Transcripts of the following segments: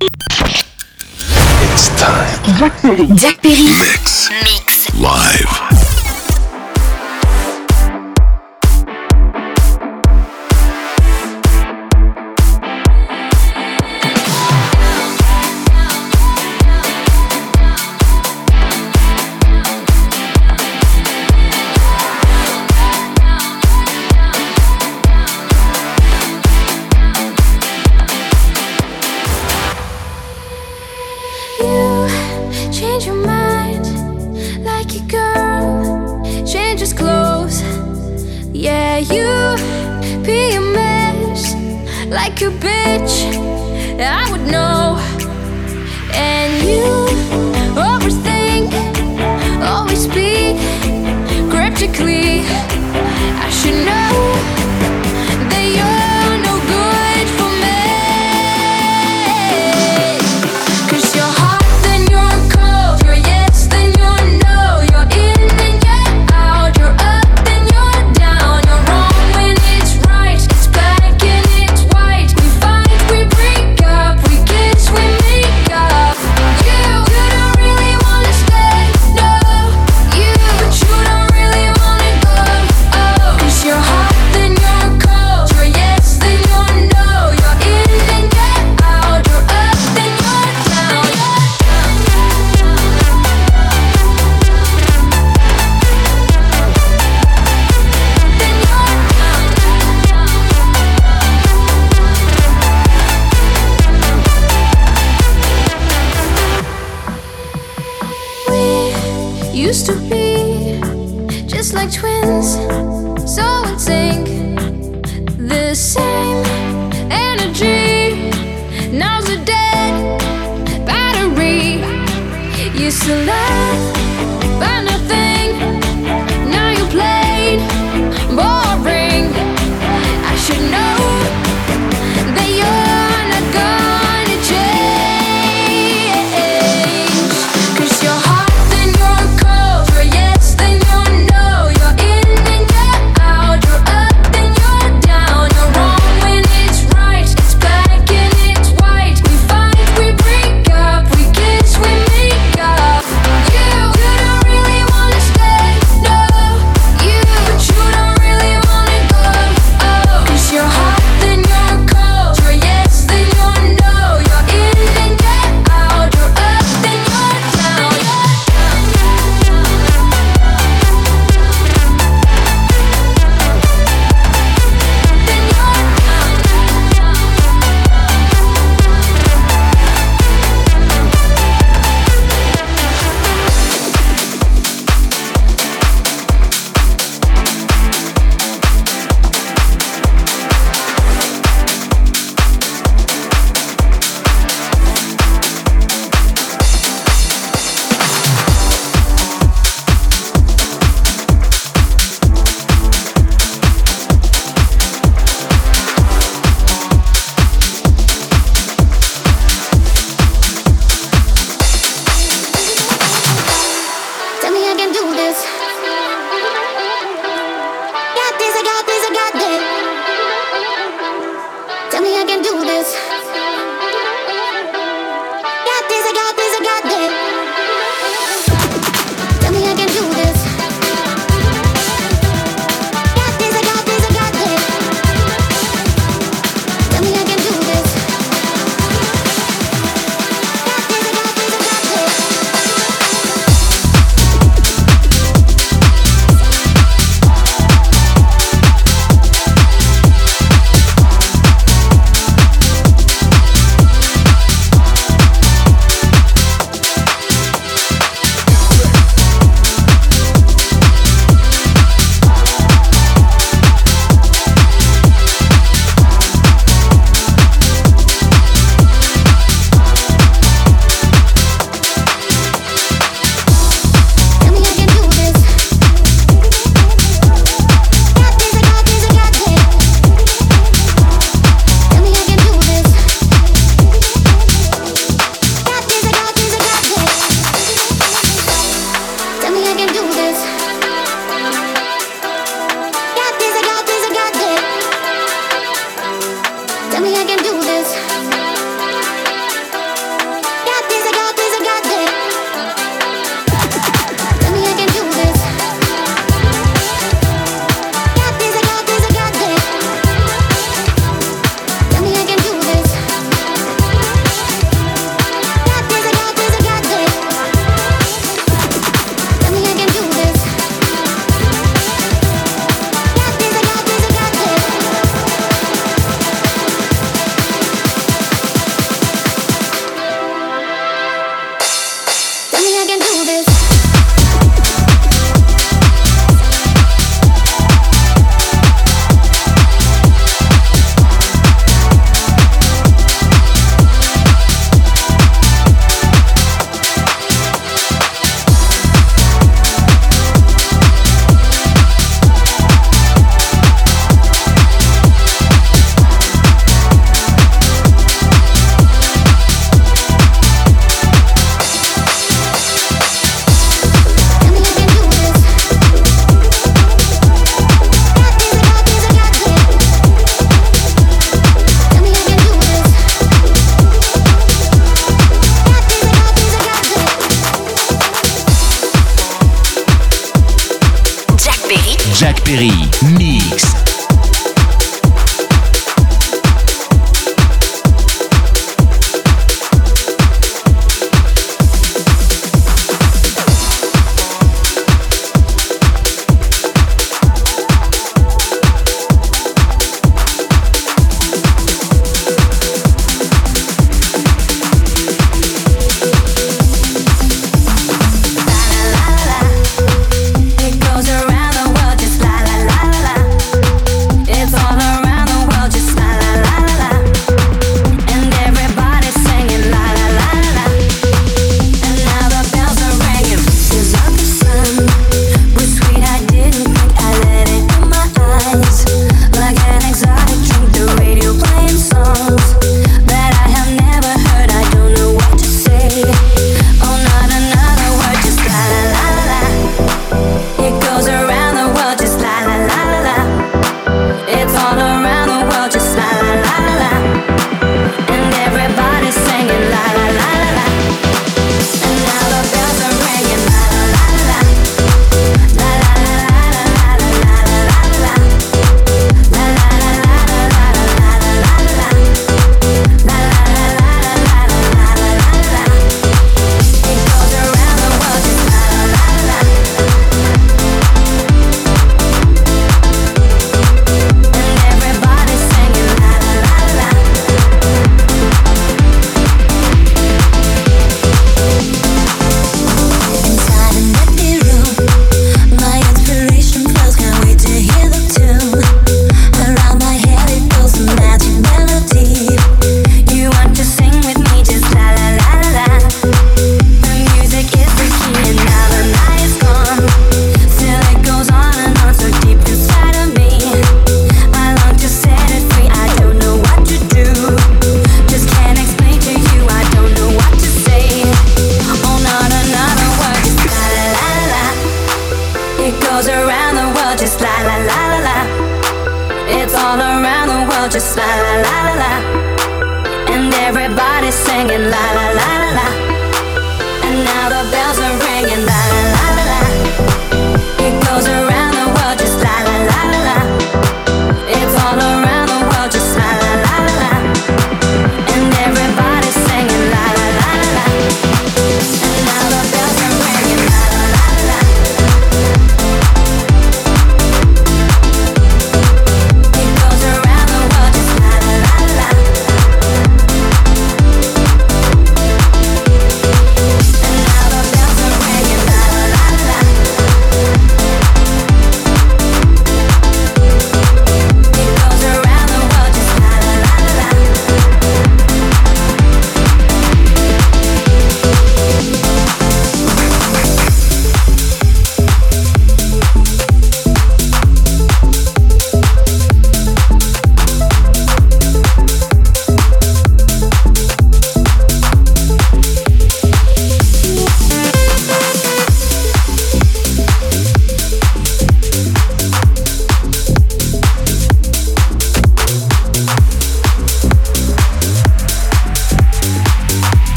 It's time. Jack Perry. Mix. Live. Change your mind like a girl changes clothes. Yeah, you be a mess like a bitch, I would know. And you overthink, always speak cryptically. I should know that you're no good for me. 'Cause you're hot, then you're cold. You're yes, then you're no. You're in, then you're out. You're up, then you're down. You're wrong when it's right. It's black and it's white. We fight, we break up. We kiss, we make up. You don't really wanna stay, no. But you don't really wanna go. Oh, 'cause you're hot, then you're cold. You're yes, then you're no. You're in, then you're out. You're up, then you're down. We used to be just like twins, so in sync, the same energy. Now's a dead battery. Used to laugh about nothing, now you played boring. I should know that you're not gonna change. 'Cause you're hot, then you're cold. You're yes, then you're no. You're in, then you're out. You're up, then you're down. You're wrong when it's right. It's black and it's white. We fight, we break up. We kiss, we make up. You Perry, mix.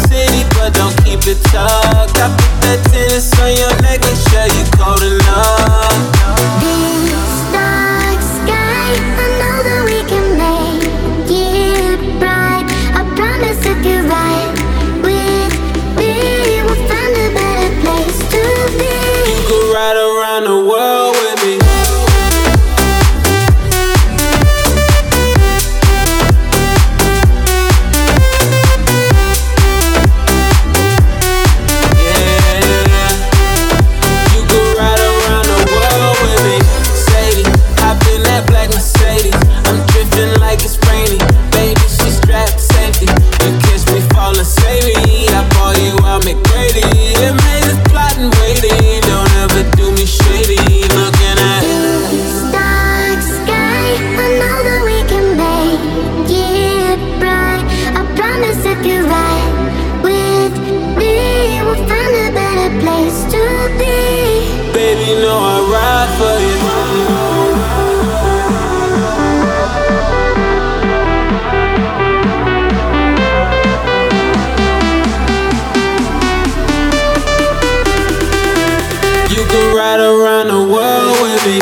Talk. I put that tennis on your neck, make sure you cold enough. you know I ride for you. You can ride around the world with me.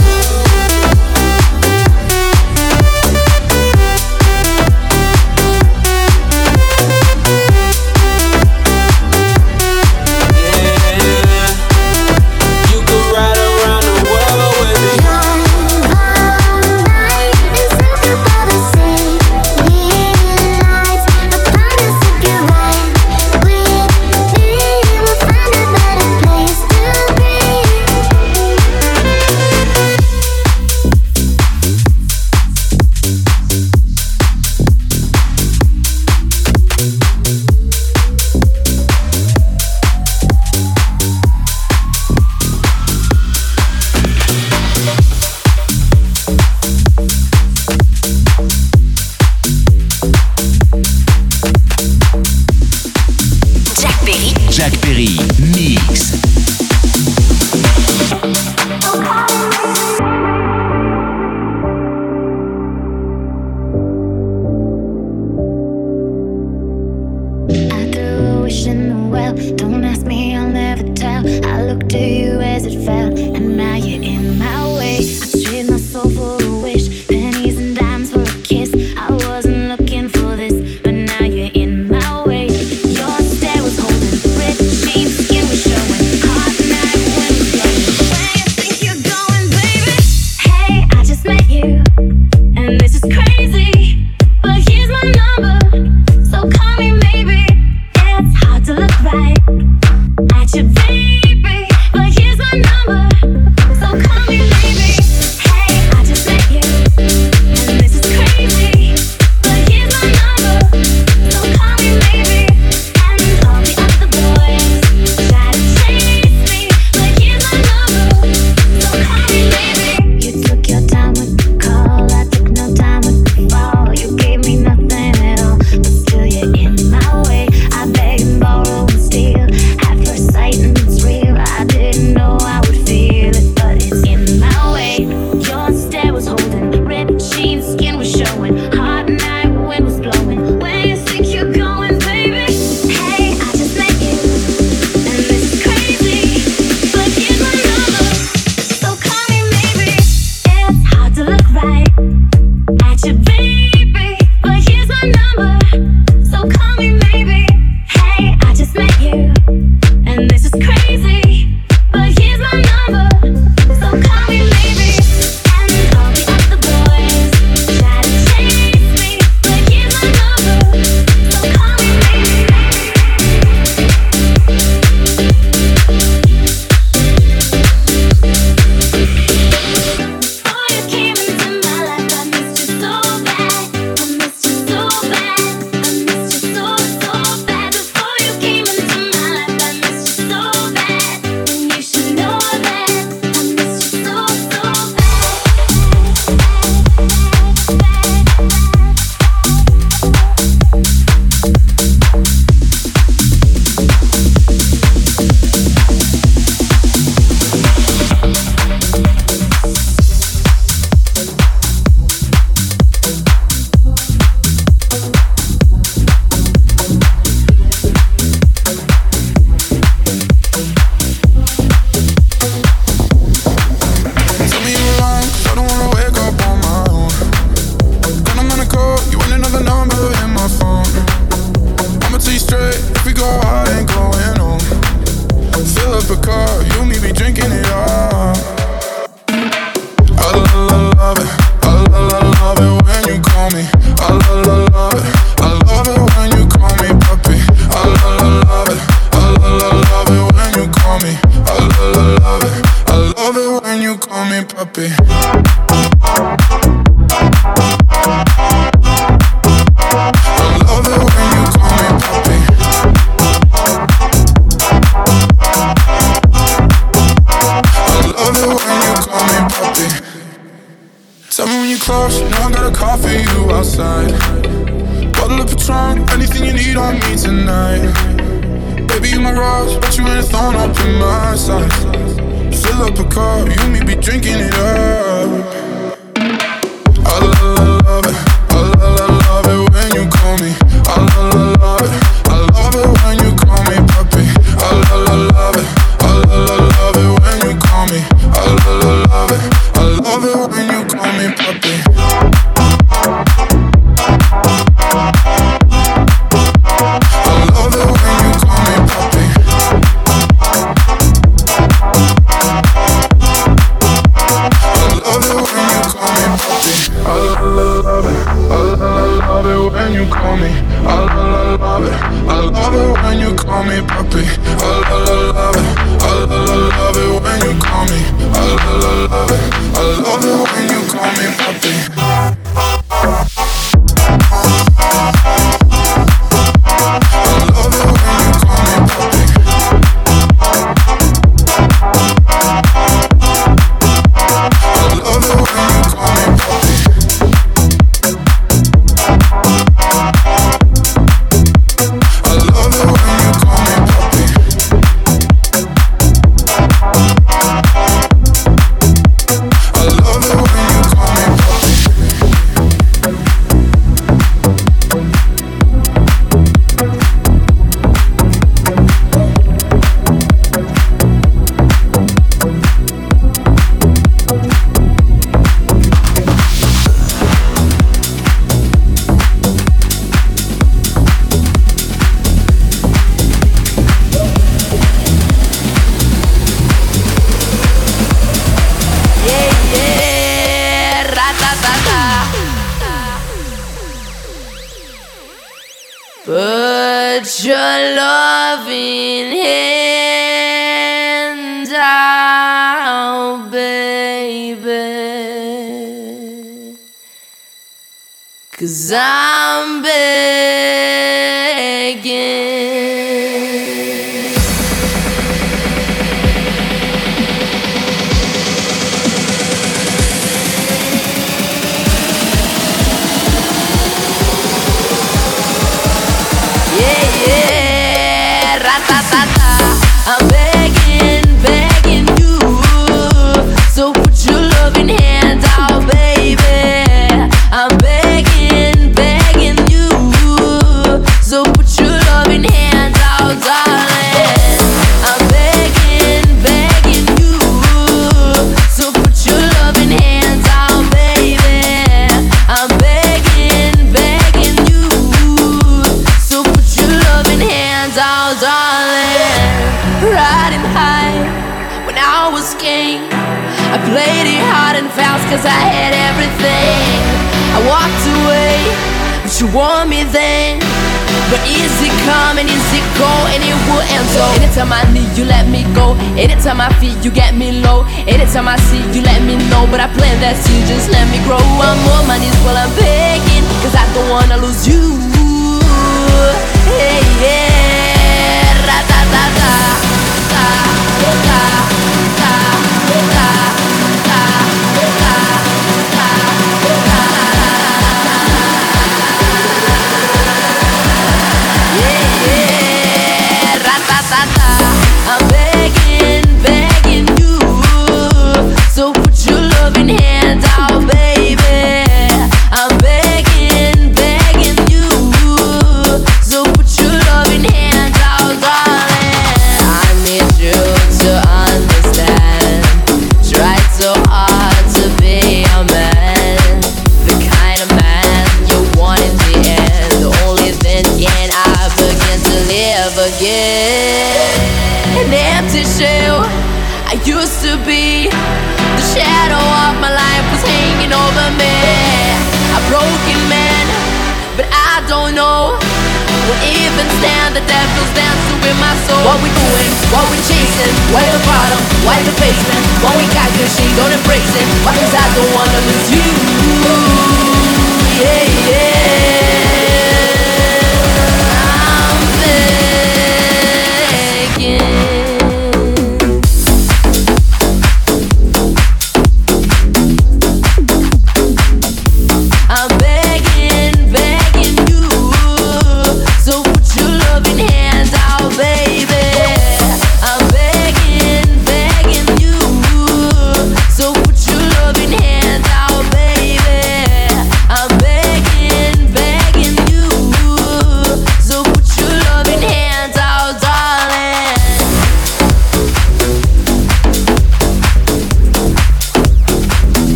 Jack Perry, Mix. I threw a wish in the well. Don't ask me, I'll never tell. I looked to you as it fell, and now you're in my way. I trade my soul for a wish, pennies and dimes for a kiss. I wasn't looking for this, but now you're in my way. Your stare was holding, ripped jeans, skin was showing. Hot night, wind was blowing. Where you think you're going, baby? Hey, I just met you, and this is crazy, but here's my number, so call me maybe. It's hard to look right at your baby, but here's my number, so call me maybe. Hey, I just met you, and this is crazy, but here's my number, so call me maybe. And all the other boys try to chase me, but here's my number, so call me maybe. You took your time with the call, I took no time with the fall. You gave me nothing at all, but still you're in my way. I beg and borrow and steal at first sight, and it's real. I didn't know I would feel it, but it's in my way. Your stare was holding, ripped jeans, skin was showing. Hot night, wind was blowing. Where you think you're going, baby? Hey, I just met you, and this is crazy, but here's my number, so call me maybe. It's hard to look right at your baby, but here's my number, so call me maybe. Hey, I just met you, and this is crazy, but here's my number, so call me maybe. And all the other boys try to chase me, but here's my number, so call me maybe. Before you came into my life, I missed you so bad. I missed you so bad. I missed you so, so bad. Before you came into my life, I missed you so bad. And you should know that I missed you so, so Tell me you're lying, 'cause I don't wanna wake up on my own. When I'm gonna call, you ain't another number in my phone. I'ma tell you straight, if we go out, ain't going home. Fill up a car, you and me be drinking it all. I love it, I love it when you call me. I love it, I love it when you call me puppy. I love it, I love it when you call me. I love it, I love it when you call me puppy. I love it when you call me puppy. I love it when you call me puppy. Tell me when you're close, you know I got a call for you outside. Bottle of Patron, anything you need on me tonight. Baby, you my rose, but you ain't a thorn up in my side. Fill up a cup, you and me be drinking it up. I love it, I love it when you call me. I love it, I love it when you call me puppy. I love it, I love it when you call me. I love it, I love it when you call me puppy. I love it when you call me puppy. I love it when you call me puppy. I love it, I love it when you call me. I love it, I love it when you call me puppy. I love it, I love it when you call me. I love it, I love it when you call me puppy. Put your loving hand out, baby, 'cause I'm begging. I'm begging, begging you. So put your loving hand out, baby. I'm begging, begging you. So put your loving hand out, darling. I'm begging, begging you. So put your loving hands out, baby. I'm begging, begging you. So put your loving hands out, darling. Riding high when I was king, I played it hard and fast 'cause I had everything. I walked away, but you want me then. But is it come and is it go, and it will end so. Anytime I need you, let me go. Anytime I feel you, get me low. Anytime I see you, let me know. But I plant that seed, just let me grow. I'm on my knees while I'm begging, 'cause I don't wanna lose you. Hey, yeah, ra-ta-ta-ta. I'm begging, begging you. So put your loving hand out, baby. I'm begging, begging you. So put your loving hand out, darling. I need you to understand. Tried so hard to be a man, the kind of man you want in the end. Only then can I begin to live again. An empty shell I used to be. The shadow of my life was hanging over me. A broken man, but I don't know what even stand. The devil's dancing with my soul. What we doing? What we chasing? Why the bottom? Why the basement? What we got good, she don't embrace it. Why? 'Cause I don't wanna lose you. Yeah, yeah. I'm begging. I'm begging, begging you. So put your loving hands out, baby. I'm begging, begging you.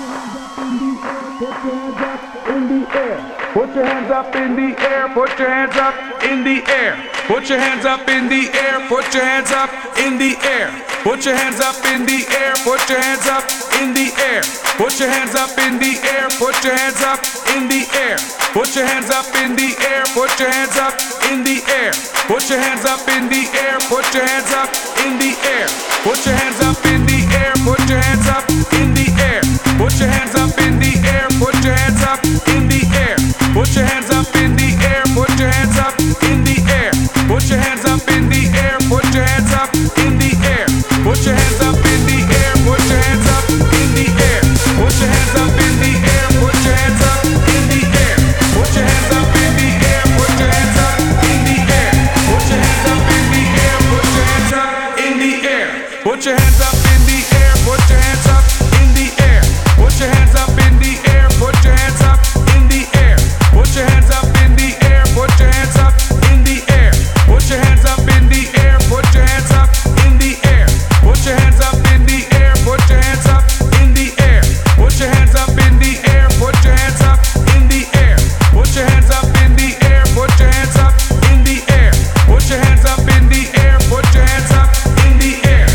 Put your hands up in the air, put your hands up in the air. Put your hands up in the air, put your hands up in the air. Put your hands up in the air, put your hands up in the air. Put your hands up in the air, put your hands up in the air. Put your hands up in the air, put your hands up in the air. Put your hands up in the air, put your hands up in the air. Put your hands up in the air, put your hands up in the air. Put your hands up in the air, put your hands up in the air. Put your hands up in the air, put your hands up in the air. Put your hands up in the air, put your hands up in the air. Put your hands up in the air, put your hands up in the air. Put your hands up in the air, put your hands up in the air. Put your hands up in the air, put your hands up in the air. Put your hands up in the air, put your hands up in the air. Put your hands up in the air, put your hands up in the air. Put your hands up in the air, put your hands up in the air. Put your hands up in the air, put your hands up in the air. Put your hands up in the air, put your hands up in the air. Put your hands up in the air, put your hands up in the air. Put your hands up in the air, put your hands up in the air. Put your hands up in the air, put your hands up in the air. Put your hands up in the air, put your hands up in the air.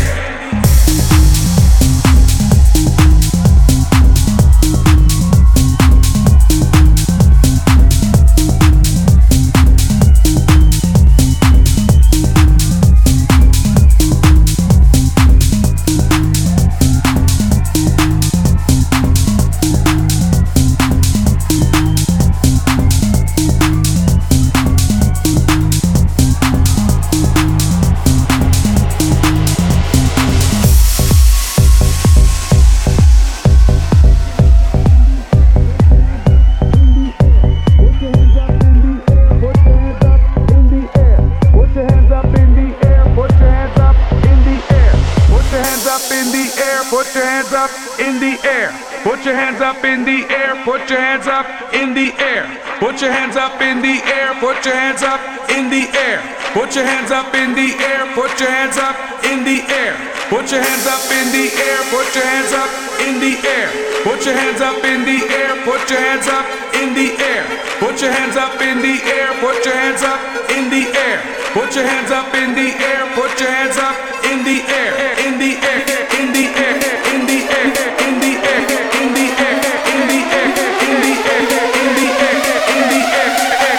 Put your hands up in the air. Put your hands up in the air. Put your hands up in the air. Put your hands up in the air. Put your hands up in the air. Put your hands up in the air. Put your hands up in the air. Put your hands up in the air. Put your hands up in the air. Put your hands up in the air. Put your hands up in the air. Put your hands up in the air. Put your hands up in the air. Put your hands up in the air. Put your hands up in the air. In the air. In the air. In the air. In the air. In the air. In the air. In the air. In the air. In the air.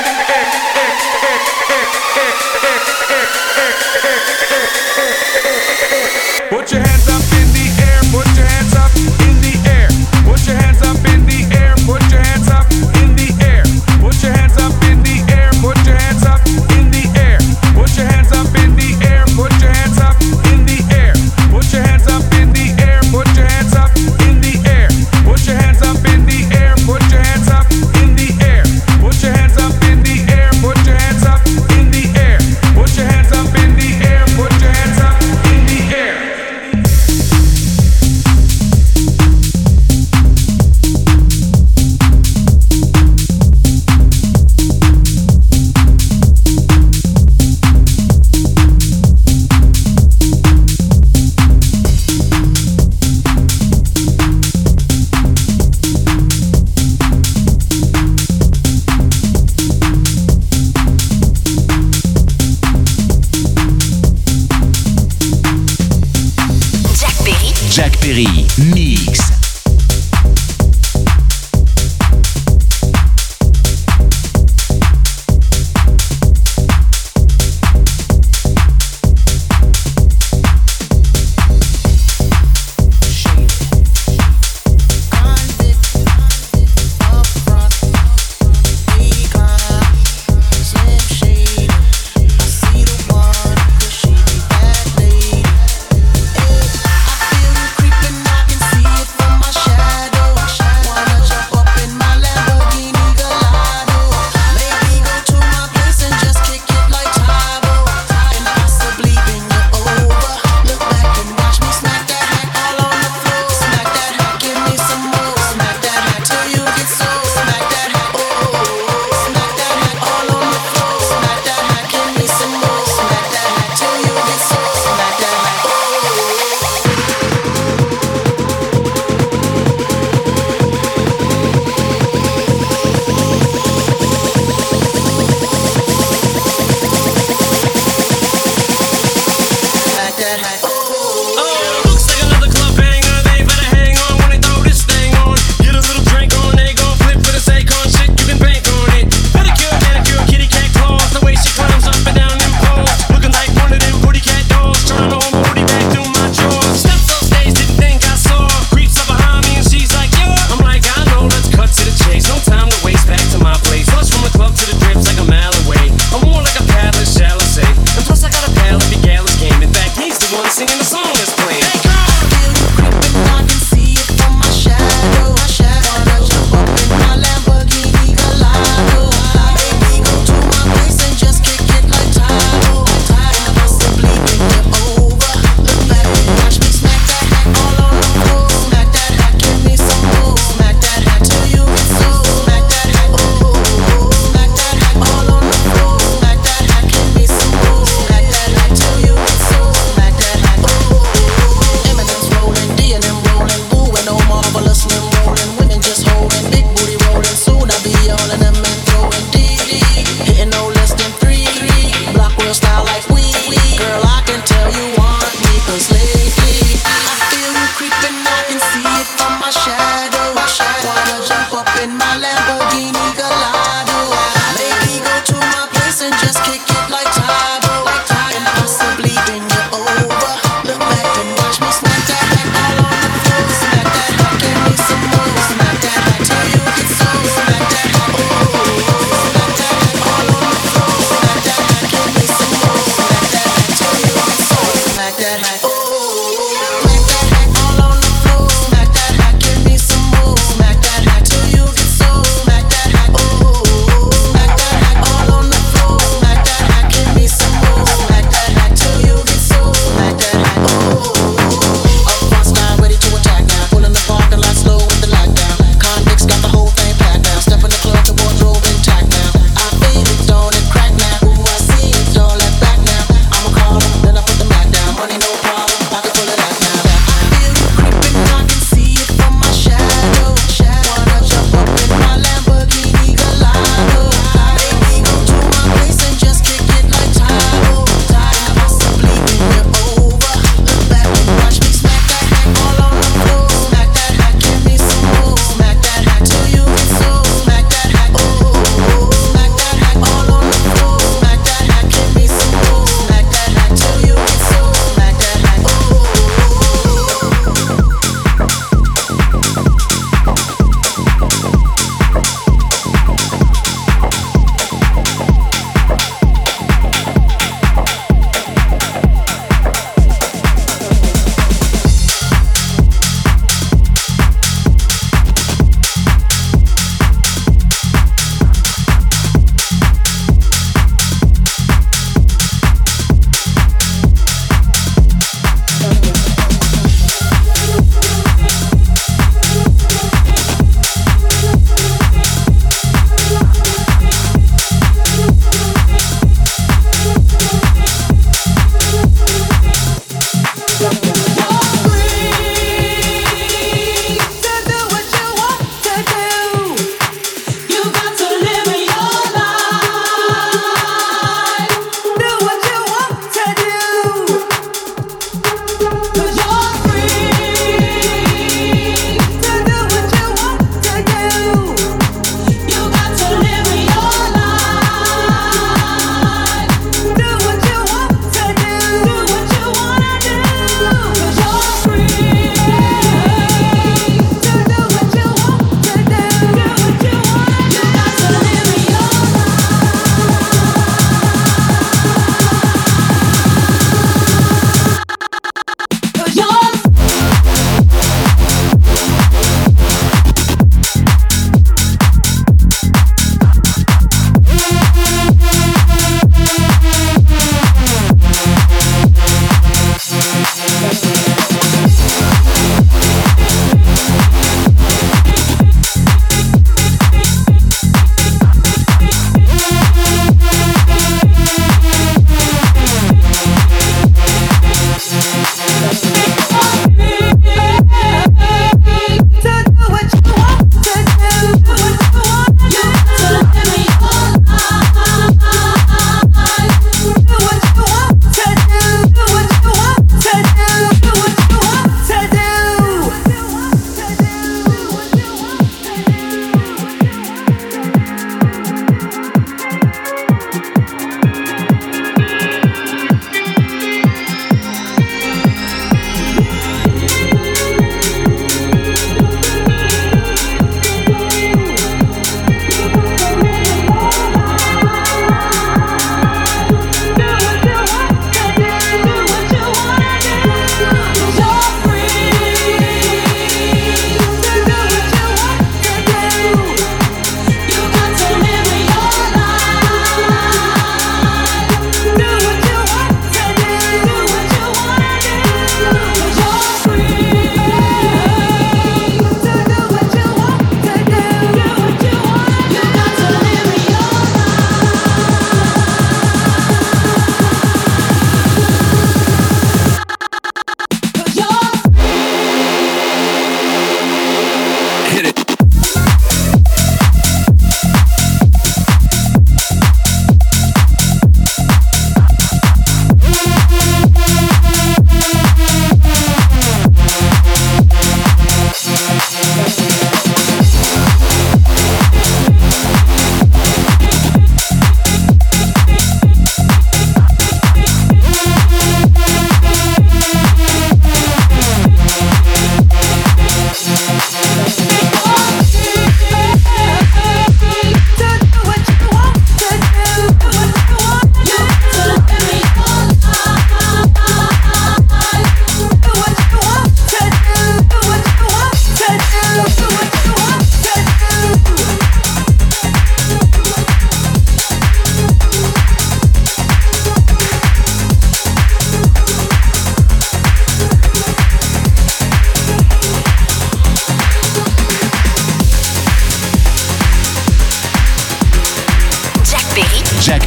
Put your hands up in the air. Put your hands up in the air. Put your hands up in the air. Put your hands up in the air. Put your hands up in the air. Put your hands up in the air. Put your hands up in the air. Put your hands up in the air. Put your hands up in the air. Put your hands up in the air. Put your hands up in the air. Put your hands up in the air. Put your hands up in the air. Put your hands up in the air. Put your hands up in the air. Put your hands up in the air. Jack Perry, Mix. Creeping, I can see it from up in my Lamborghini Gallardo. Maybe go to my place and just kick it like Tahoe, and possibly bring you over. Look back and watch me smack that back all on the floor. Smack that back, give me some more. Smack that back till you get so. Smack that back, oh. Smack that back all on the floor. Smack that back, give me some more. Smack that back till you get so. Smack that back, oh. Smack that back all on the floor. Smack that back, give me some more. Smack that back till you get so. Smack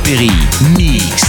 Perry, Mix.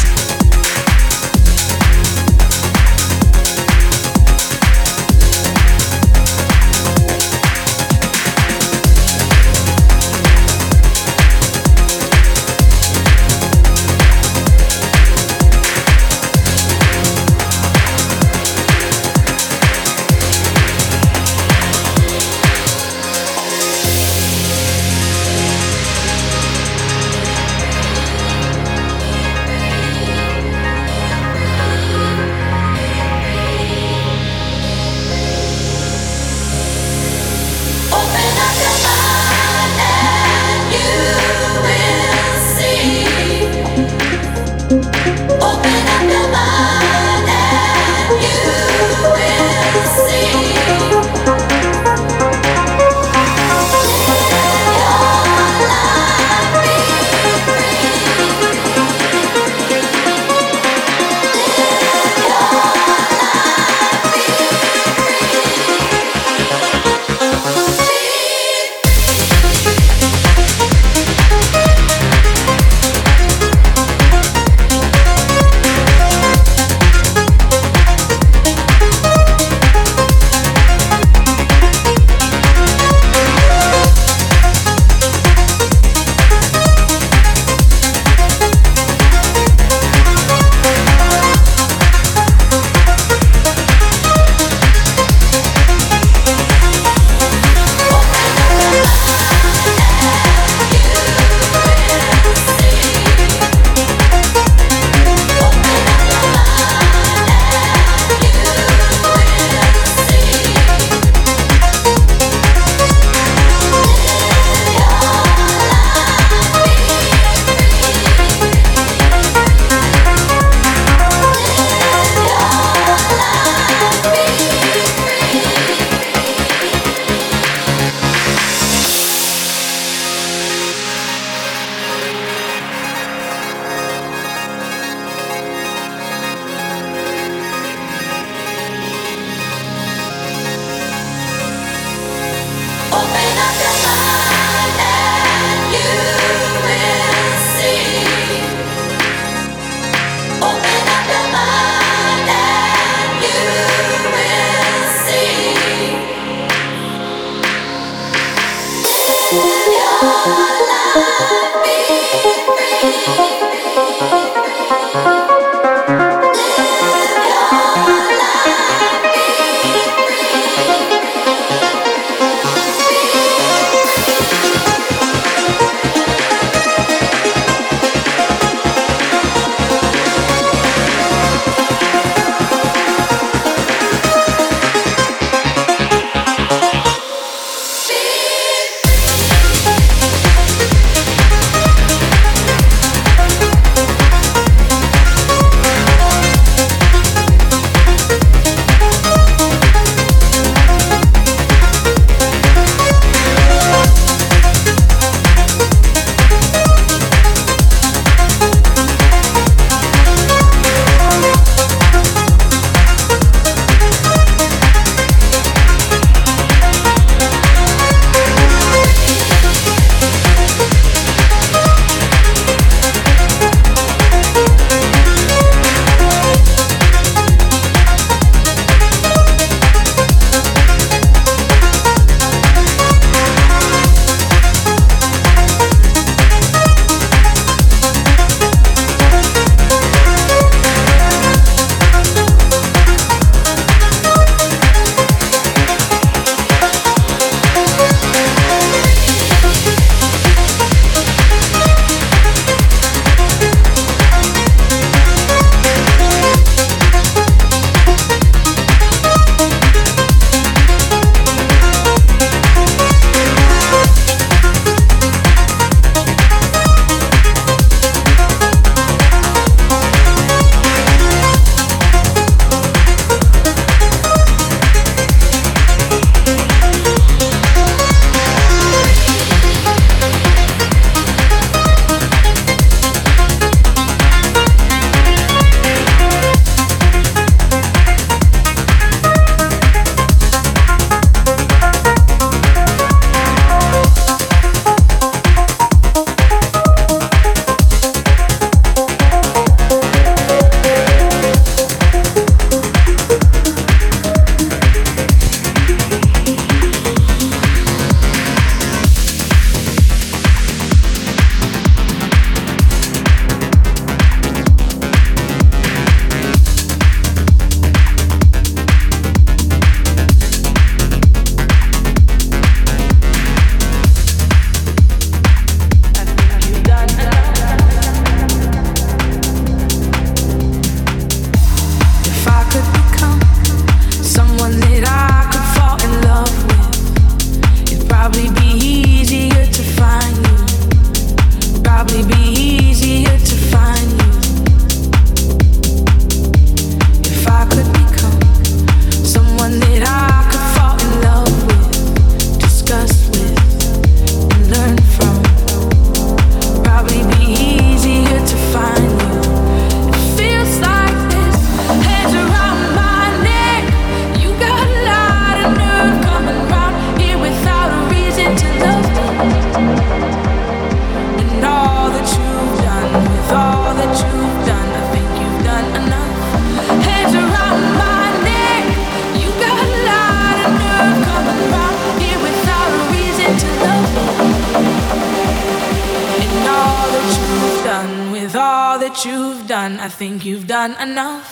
that you've done, I think you've done enough.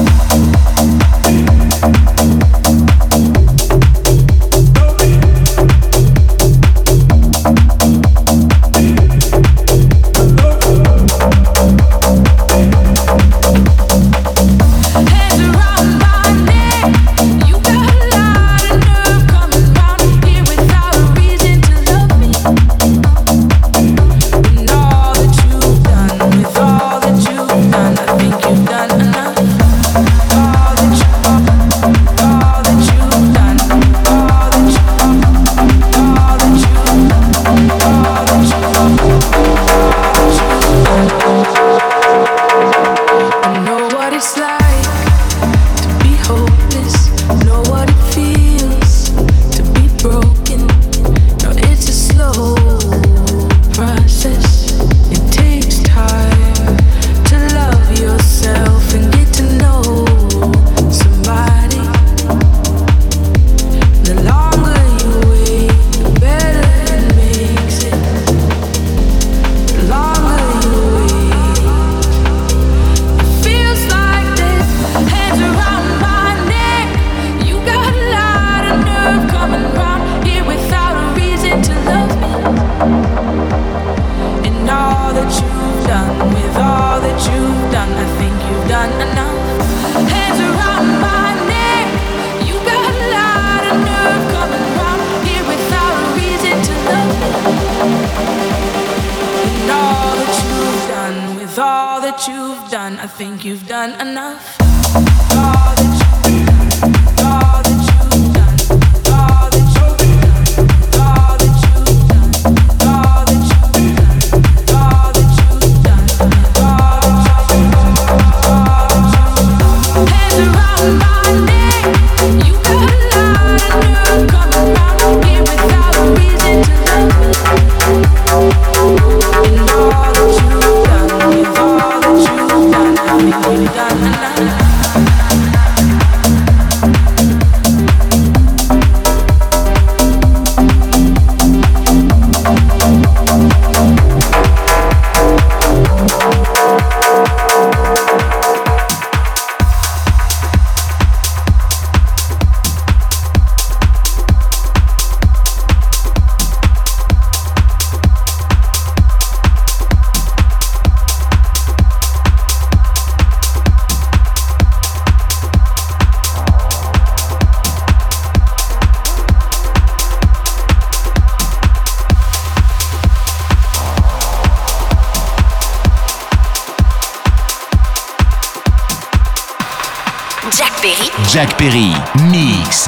Jack Perry, Mix.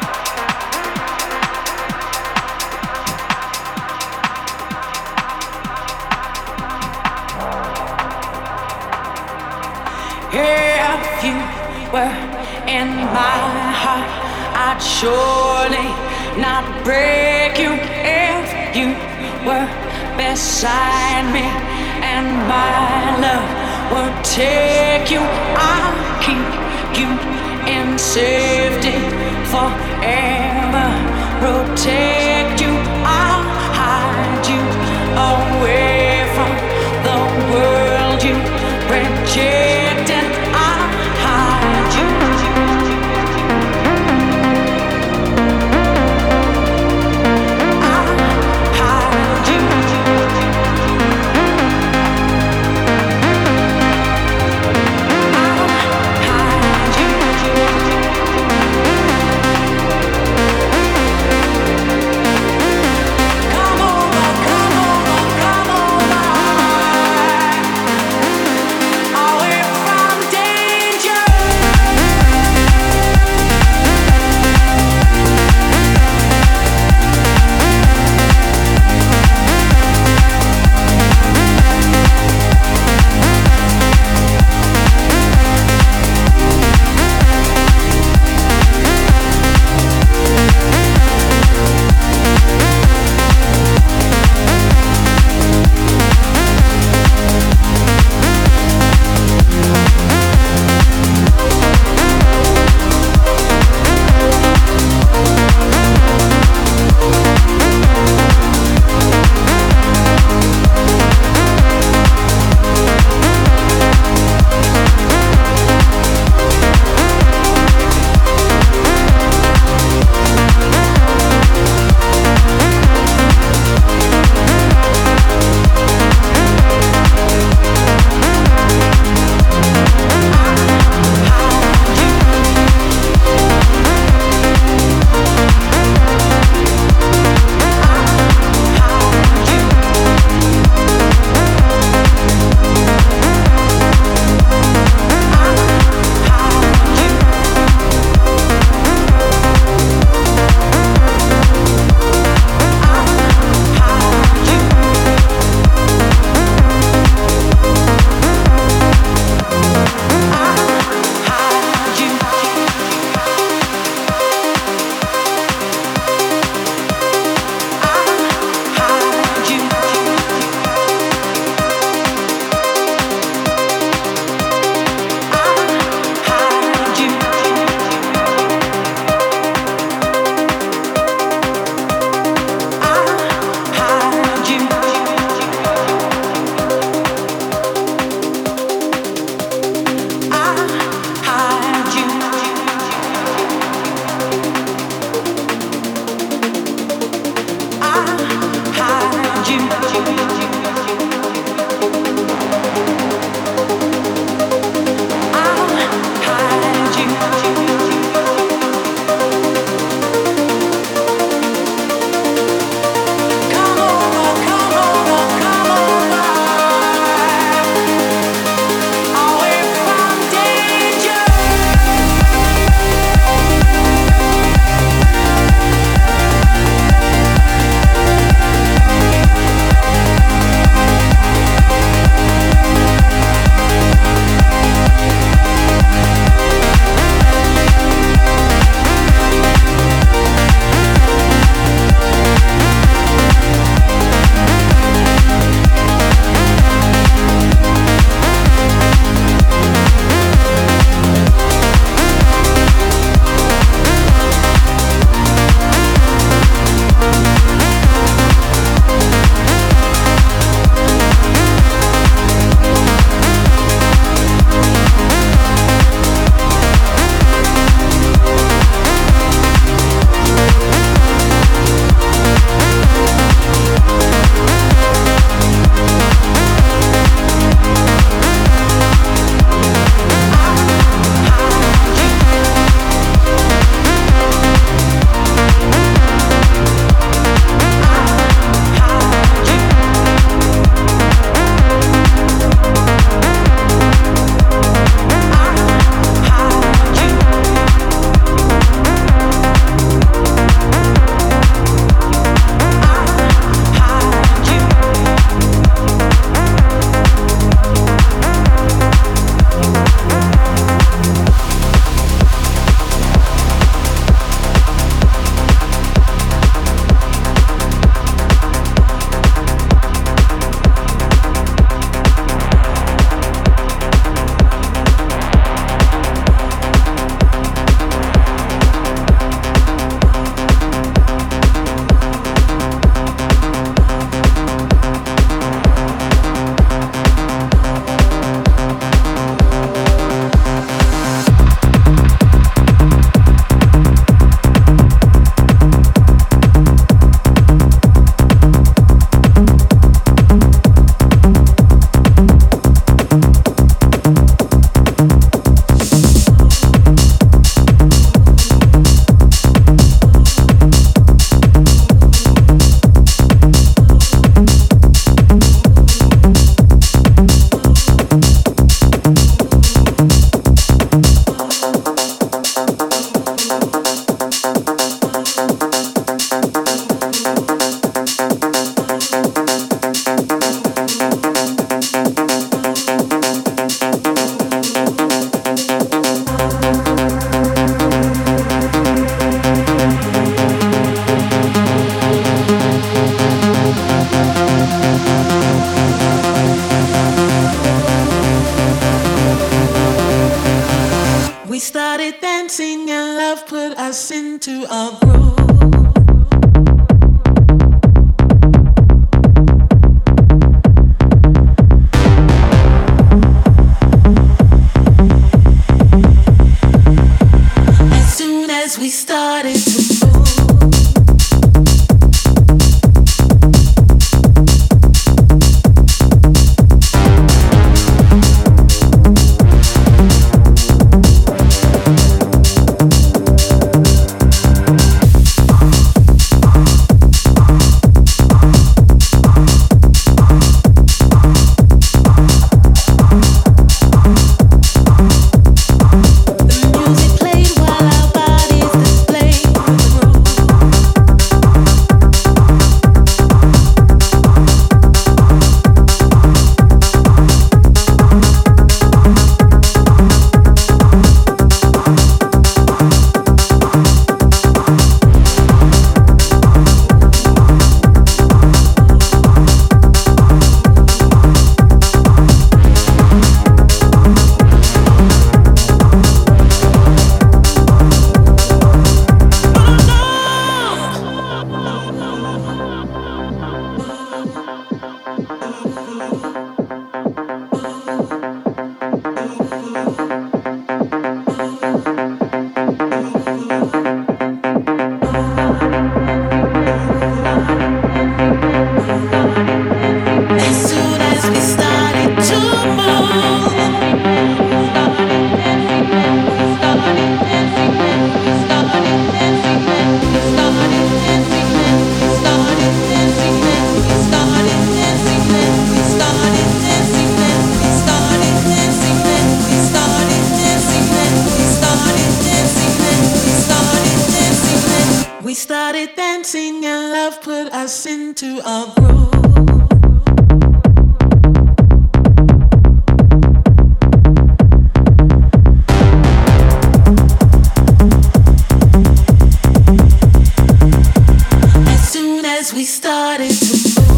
If you were in my heart, I'd surely not break you. If you were beside me and my love would take you, I'll keep you in safety forever, protect you, I'll hide you away from the world you rejected, I'll hide you. I'll hide you. I'll hide you. into a groove. As soon as we started to move. Into a groove. As soon as we started to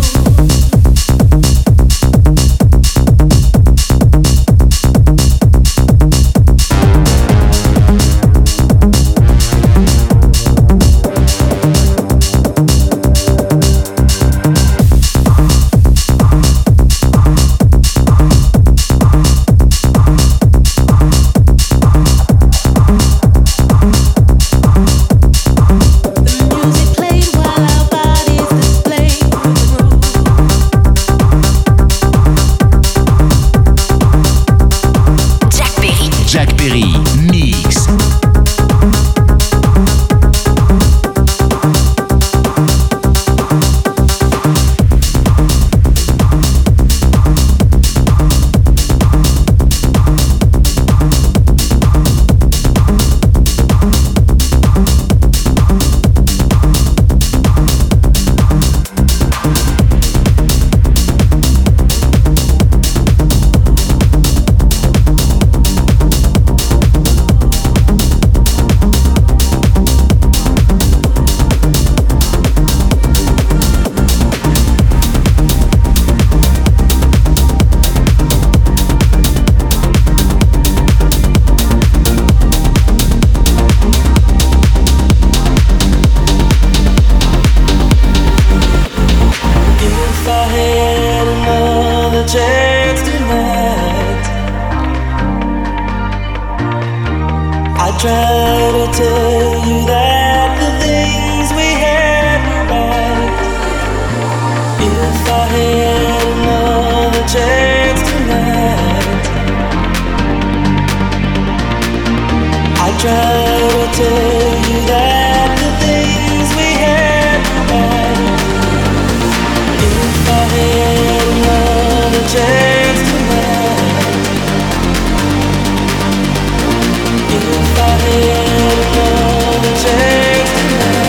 try to tell you that the things we had were right. If I had another chance tonight, I'd try to tell you that the things we had were right. If I had another chance tonight, if I had another chance tonight.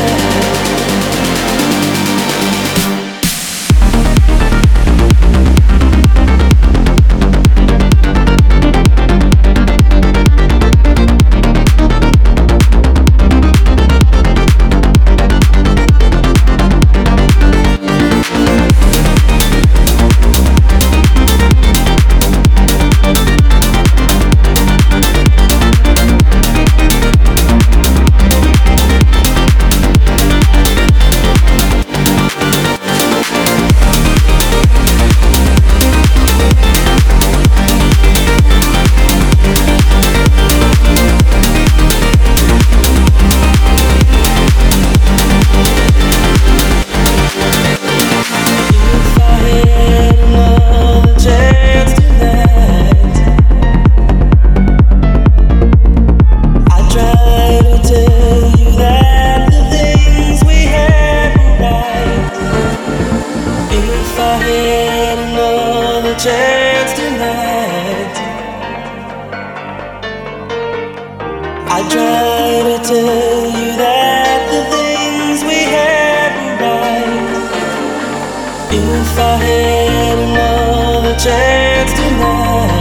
if I had another chance tonight.